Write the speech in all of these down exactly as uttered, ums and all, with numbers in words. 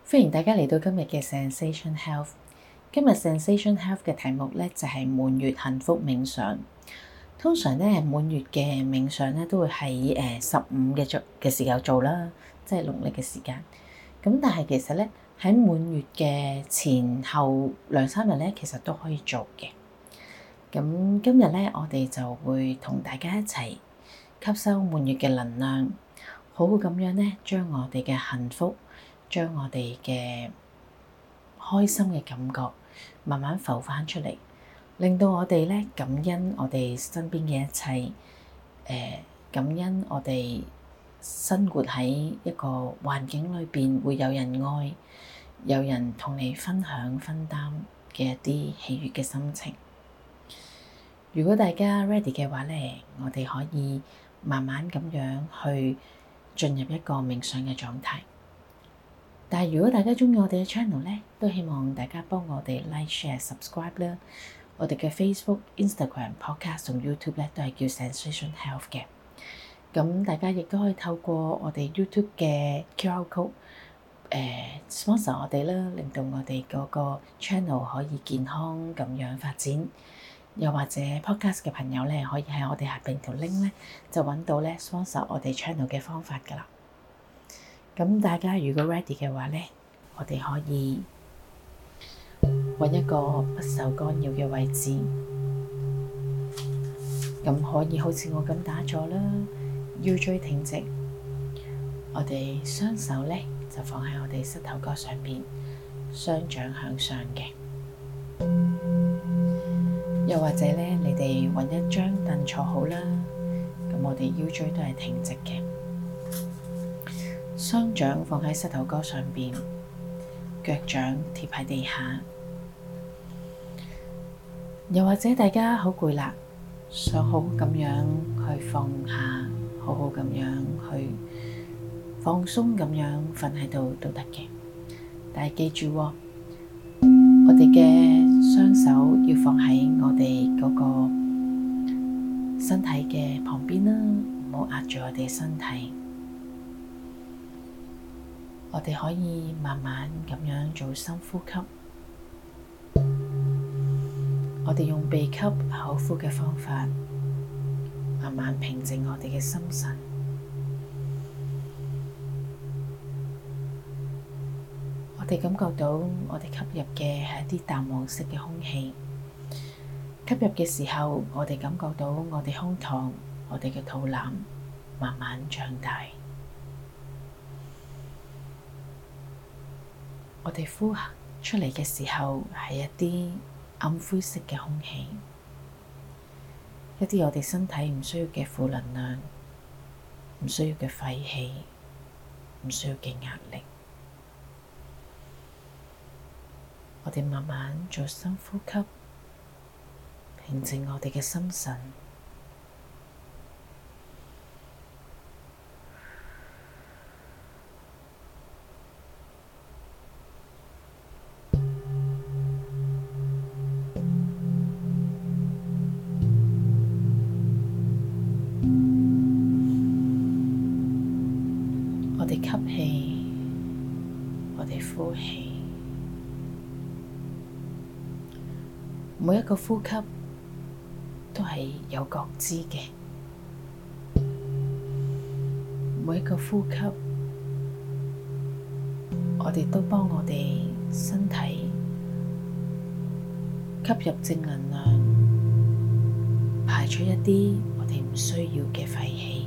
歡迎大家嚟到今日嘅 Zensation Health。今日 Zensation Health 嘅題目咧就係滿月幸福冥想。通常咧滿月嘅冥想咧都會喺誒十五嘅做嘅時候做啦，即係農曆嘅時間。咁但係其實咧喺滿月嘅前後兩三日咧，其實都可以做嘅。咁今日咧我哋就會同大家一齊吸收滿月嘅能量，好好咁樣咧將我哋嘅幸福，將我哋嘅開心嘅感覺慢慢浮翻出嚟，令到我哋咧感恩我哋身邊嘅一切，誒、呃、感恩我哋生活喺一個環境裏邊會有人愛，有人同你分享分擔嘅一啲喜悅嘅心情。如果大家 ready 嘅話咧，我哋可以慢慢咁樣去進入一個冥想嘅狀態。但係如果大家鍾意我哋嘅 channel 咧，都希望大家幫我哋 like、share、subscribe 啦。我哋嘅 Facebook、Instagram、Podcast 同 YouTube 咧都係叫 Zensation Health 嘅。咁大家亦都可以透過我哋 YouTube 嘅 Q R code 誒、呃、sponsor 我哋啦，令到我哋嗰個 channel 可以健康咁樣發展。又或者 Podcast 嘅朋友咧，可以喺我哋下邊條 link 咧，就揾到咧 sponsor 我哋 channel 嘅方法㗎喇。咁大家如果 ready 嘅話咧，我哋可以揾一個不受干擾嘅位置，咁可以好似我咁打坐啦，腰椎挺直，我哋雙手咧就放喺我哋膝頭哥上邊，雙掌向上嘅。又或者咧，你哋揾一張凳坐好啦，咁我哋腰椎都係挺直嘅，雙掌放喺膝頭哥上邊，腳掌貼喺地下。又或者大家好攰啦，想好好咁樣去放下，好好咁樣去放鬆咁樣瞓喺度都得嘅。但係記住喎，我哋嘅雙手要放喺我哋嗰個身體嘅旁邊啦，唔好壓住我哋身體。我哋可以慢慢咁樣做深呼吸。我哋用鼻吸口呼嘅方法，慢慢平靜我哋嘅心神。我哋感覺到我哋吸入嘅係一啲淡黃色嘅空氣。吸入嘅時候，我哋感覺到我哋胸膛、我哋嘅肚腩慢慢脹大。我哋呼出嚟嘅時候，係一啲暗灰色嘅空氣，一啲我哋身體唔需要嘅負能量，唔需要嘅廢氣，唔需要嘅壓力。我哋慢慢做深呼吸，平靜我哋嘅心神。我哋吸氣，我哋呼氣，每一個呼吸都係有覺知嘅，每一個呼吸，我哋都幫我哋身體吸入正能量，排出一啲我哋唔需要嘅廢氣。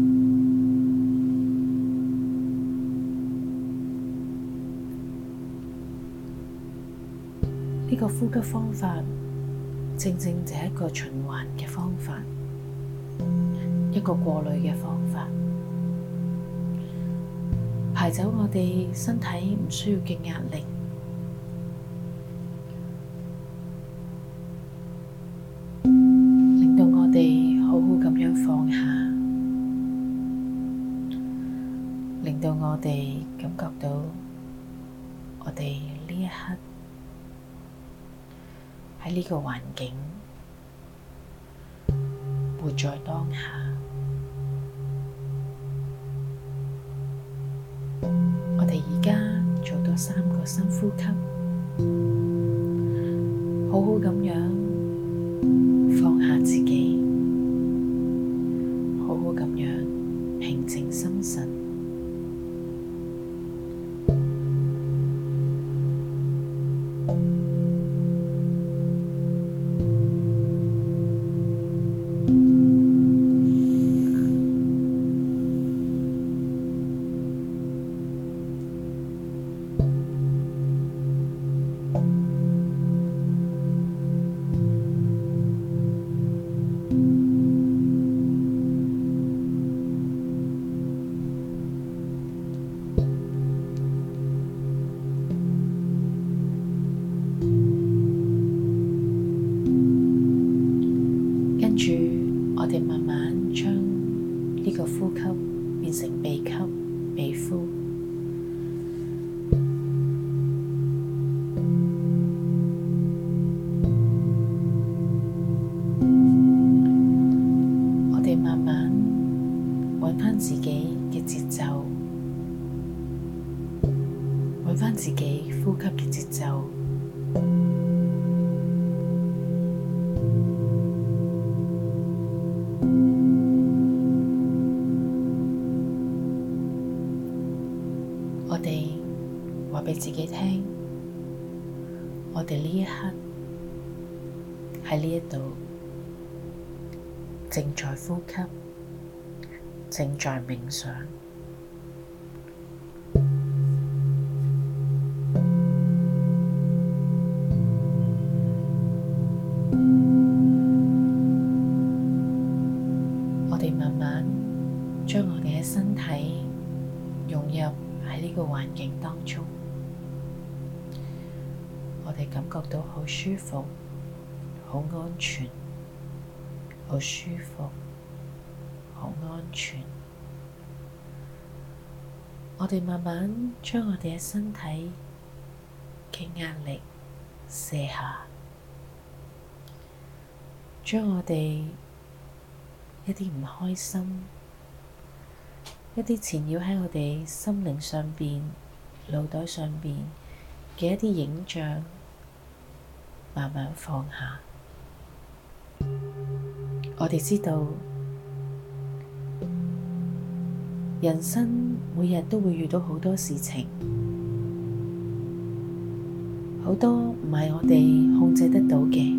呢個呼吸方法正正就係一個循環嘅方法，一個過濾嘅方法，排走我哋身體唔需要嘅壓力，令到我哋好好咁樣放下，令到我哋感覺到我哋呢一刻喺呢個環境，活在當下。我哋而家做到個三個深呼吸，好好咁樣放下自己，好好咁樣平靜心神。跟住，我哋慢慢將呢個呼吸變成鼻吸、鼻呼。我哋慢慢揾返自己嘅節奏，揾返自己呼吸嘅節奏。我哋話畀自己聽，我哋呢一刻喺呢一度正在呼吸，正在冥想。我哋慢慢將我哋嘅身體融入喺呢個環境當中，我哋感覺到好舒服、好安全、好舒服、好安全。我哋慢慢將我哋嘅身體嘅壓力卸下，將我哋一啲唔開心、一啲纏繞喺我哋心靈上邊、腦袋上邊嘅一啲影像，慢慢放下。我哋知道，人生每日都會遇到好多事情，好多唔係我哋控制得到嘅。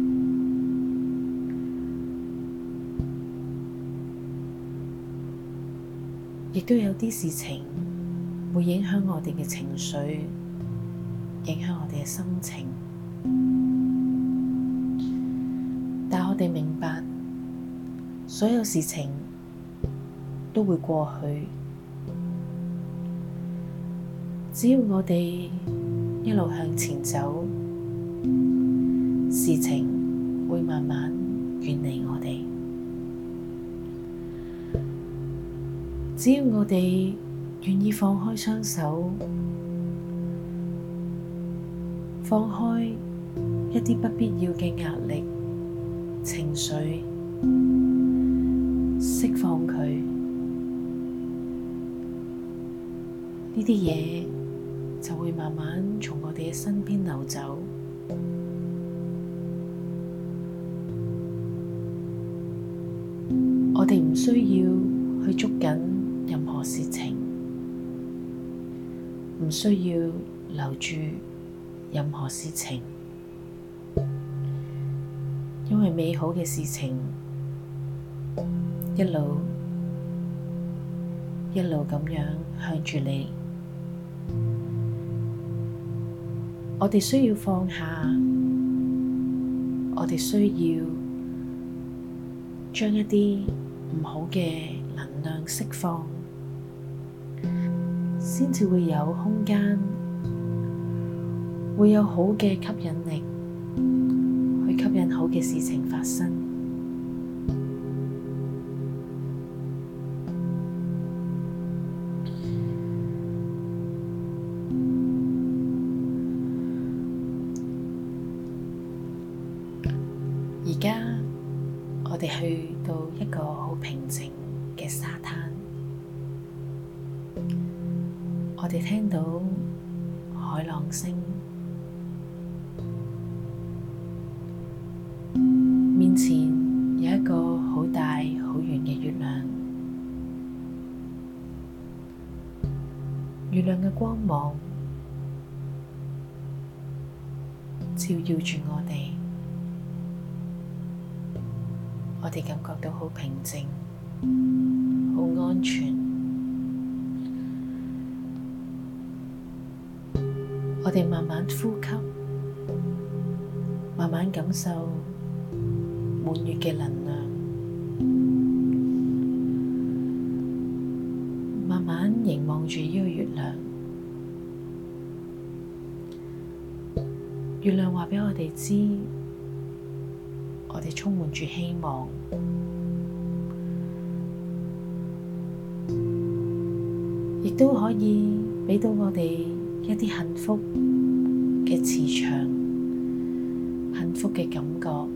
亦都有啲事情會影響我哋嘅情緒，影響我哋嘅心情。但我哋明白，所有事情都會過去。只要我哋一路向前走，事情會慢慢遠離我哋。只要我哋願意放開雙手，放開一啲不必要嘅壓力、情緒，釋放佢，呢啲嘢就會慢慢從我哋嘅身邊流走。我哋唔需要去捉緊任何事情，唔需要留住任何事情，因為美好嘅事情一路一路咁樣向住你。我哋需要放下，我哋需要將一啲唔好嘅能量釋放，先至會有空間，會有好嘅吸引力，去吸引好嘅事情發生。而家我哋去到一個好平靜嘅沙灘，我哋聽到海海浪聲，面前有一個好大好圓嘅月亮，月亮嘅光芒照耀住我哋，我哋感覺到好平靜，好安全。我哋慢慢呼吸，慢慢感受滿月嘅能量，慢慢凝望住呢個月亮。月亮話畀我哋知，我哋充滿住希望，亦都可以畀到我哋一啲幸福嘅磁場，幸福嘅感覺。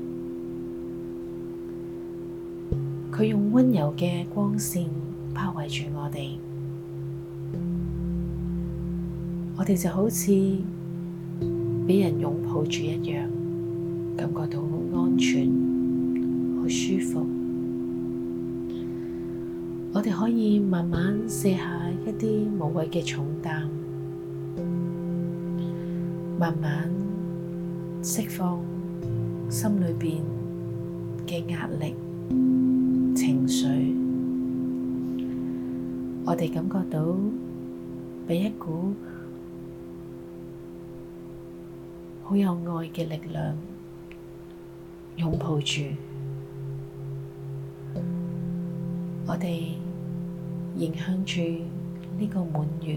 佢用溫柔嘅光線包圍住我哋，我哋就好似畀人擁抱住一樣，感覺到好安全、好舒服。我哋可以慢慢卸下一啲無謂嘅重擔，慢慢釋放心裏邊嘅壓力、情緒。我哋感覺到被一股好有愛嘅力量擁抱住，我哋迎向住呢個滿月，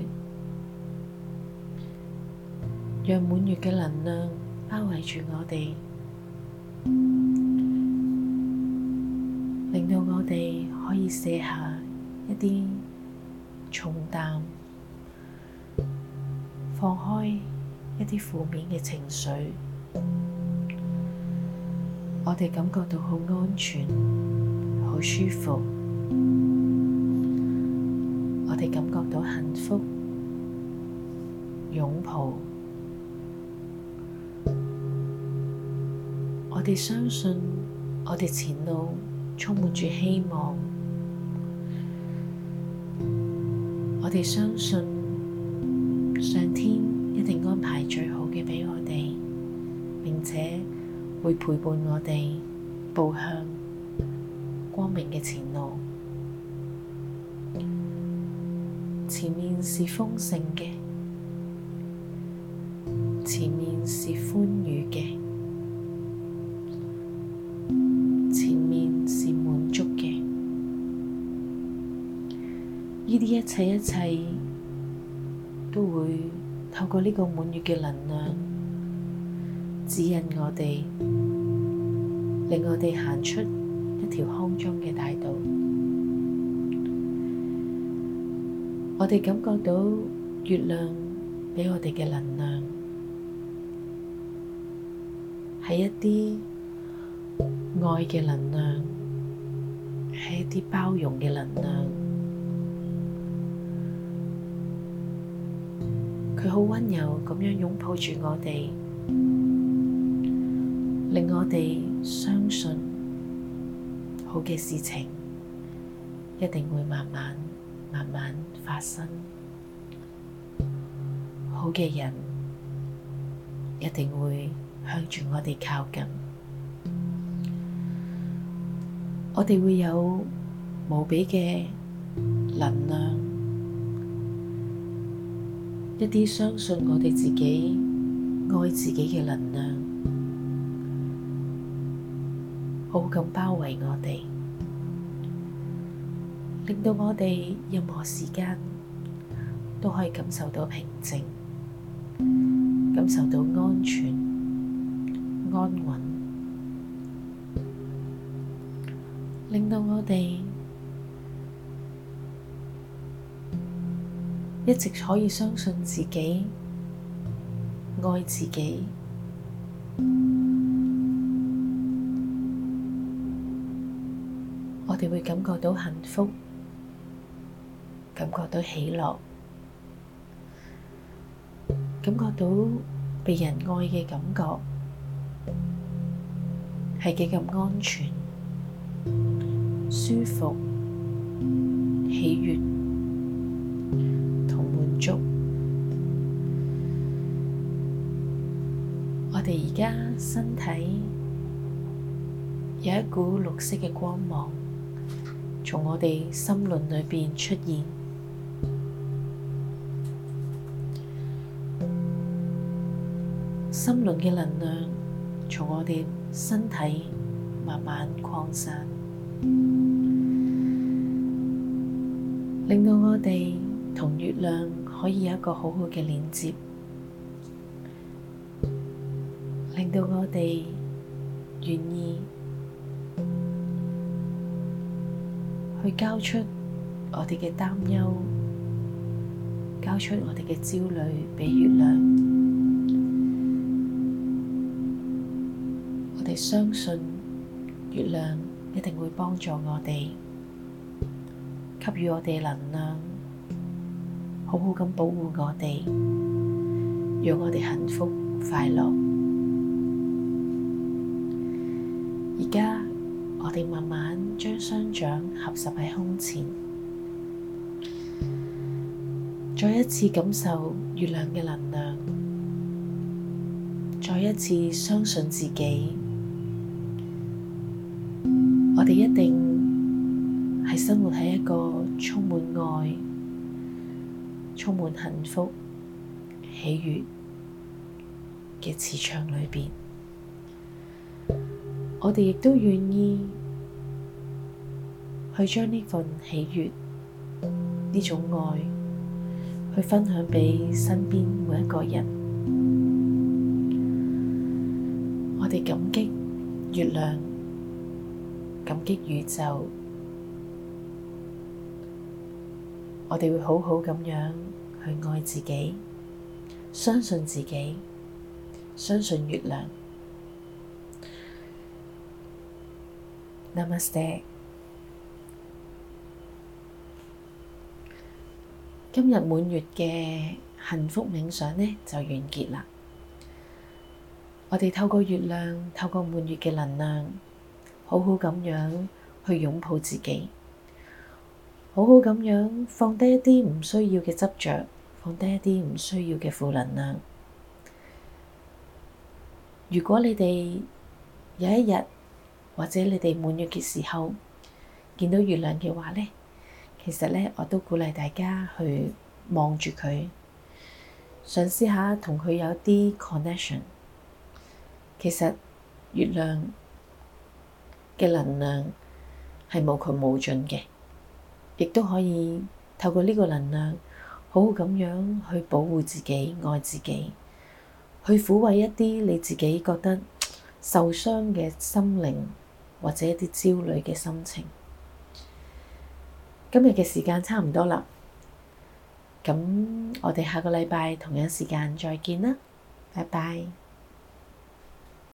讓滿月嘅能量包圍住我哋，令到我哋可以卸下一啲重擔，放開一啲負面嘅情緒。我哋感覺到好安全、好舒服，我哋感覺到幸福，擁抱。我哋相信我哋前路充滿住希望，我哋相信上天一定安排最好嘅畀我哋，並且會陪伴我哋步向光明嘅前路。前面是豐盛嘅，前面是歡愉嘅，前面是滿足嘅。呢啲一切一切都會透過呢個滿月嘅能量指引我哋，令我哋行出一條康莊嘅大道。我哋感覺到月亮畀我哋嘅能量係一啲愛嘅能量，係一啲包容嘅能量。佢好溫柔咁樣擁抱住我哋，令我哋相信好嘅事情一定會慢慢慢慢發生，好嘅人一定會向住我哋靠近，我哋會有無比嘅能量，一啲相信我哋自己愛自己嘅能量，好好咁包圍我哋，令到我哋任何時間都可以感受到平靜，感受到安全、安穩，令到我哋一直可以相信自己、愛自己。我哋會感覺到幸福，感覺到喜樂， 感覺到被人愛嘅感覺係幾咁安全、舒服、喜悅同滿足。我哋而家身體有一股綠色嘅光芒，從我哋心輪裏邊出現。心輪嘅能量從我哋身體慢慢擴散，令到我哋同月亮可以有一個好好嘅連接，令到我哋願意去交出我哋嘅擔憂，交出我哋嘅焦慮俾月亮。我哋相信月亮一定會幫助我哋，給予我哋能量，好好咁保護我哋，讓我哋幸福快樂。而家我哋慢慢將雙掌合十喺胸前，再一次感受月亮嘅能量，再一次相信自己。我哋一定係生活喺一個充滿愛、充滿幸福、喜悅嘅磁場裏邊。我哋亦都願意去將呢份喜悅、呢種愛去分享畀身邊每一個人。我哋感激月亮，感激宇宙，我哋會好好咁樣去愛自己，相信自己，相信月亮。Namaste。今日滿月嘅幸福冥想呢就完結啦。我哋透過月亮，透過滿月嘅能量，好好咁樣去擁抱自己，好好咁樣放低一啲唔需要嘅執着，放低一啲唔需要嘅負能量。如果你哋有一日或者你哋滿月嘅時候見到月亮嘅話呢，其實呢我都鼓勵大家去望住佢，嘗試下同佢有啲 connection。其實月亮嘅能量係無窮無盡嘅，亦都可以透過呢個能量好好咁樣去保護自己、愛自己，去撫慰一啲你自己覺得受傷嘅心靈或者一啲焦慮嘅心情。今日嘅時間差唔多啦，咁我哋下個禮拜同樣時間再見啦，拜拜。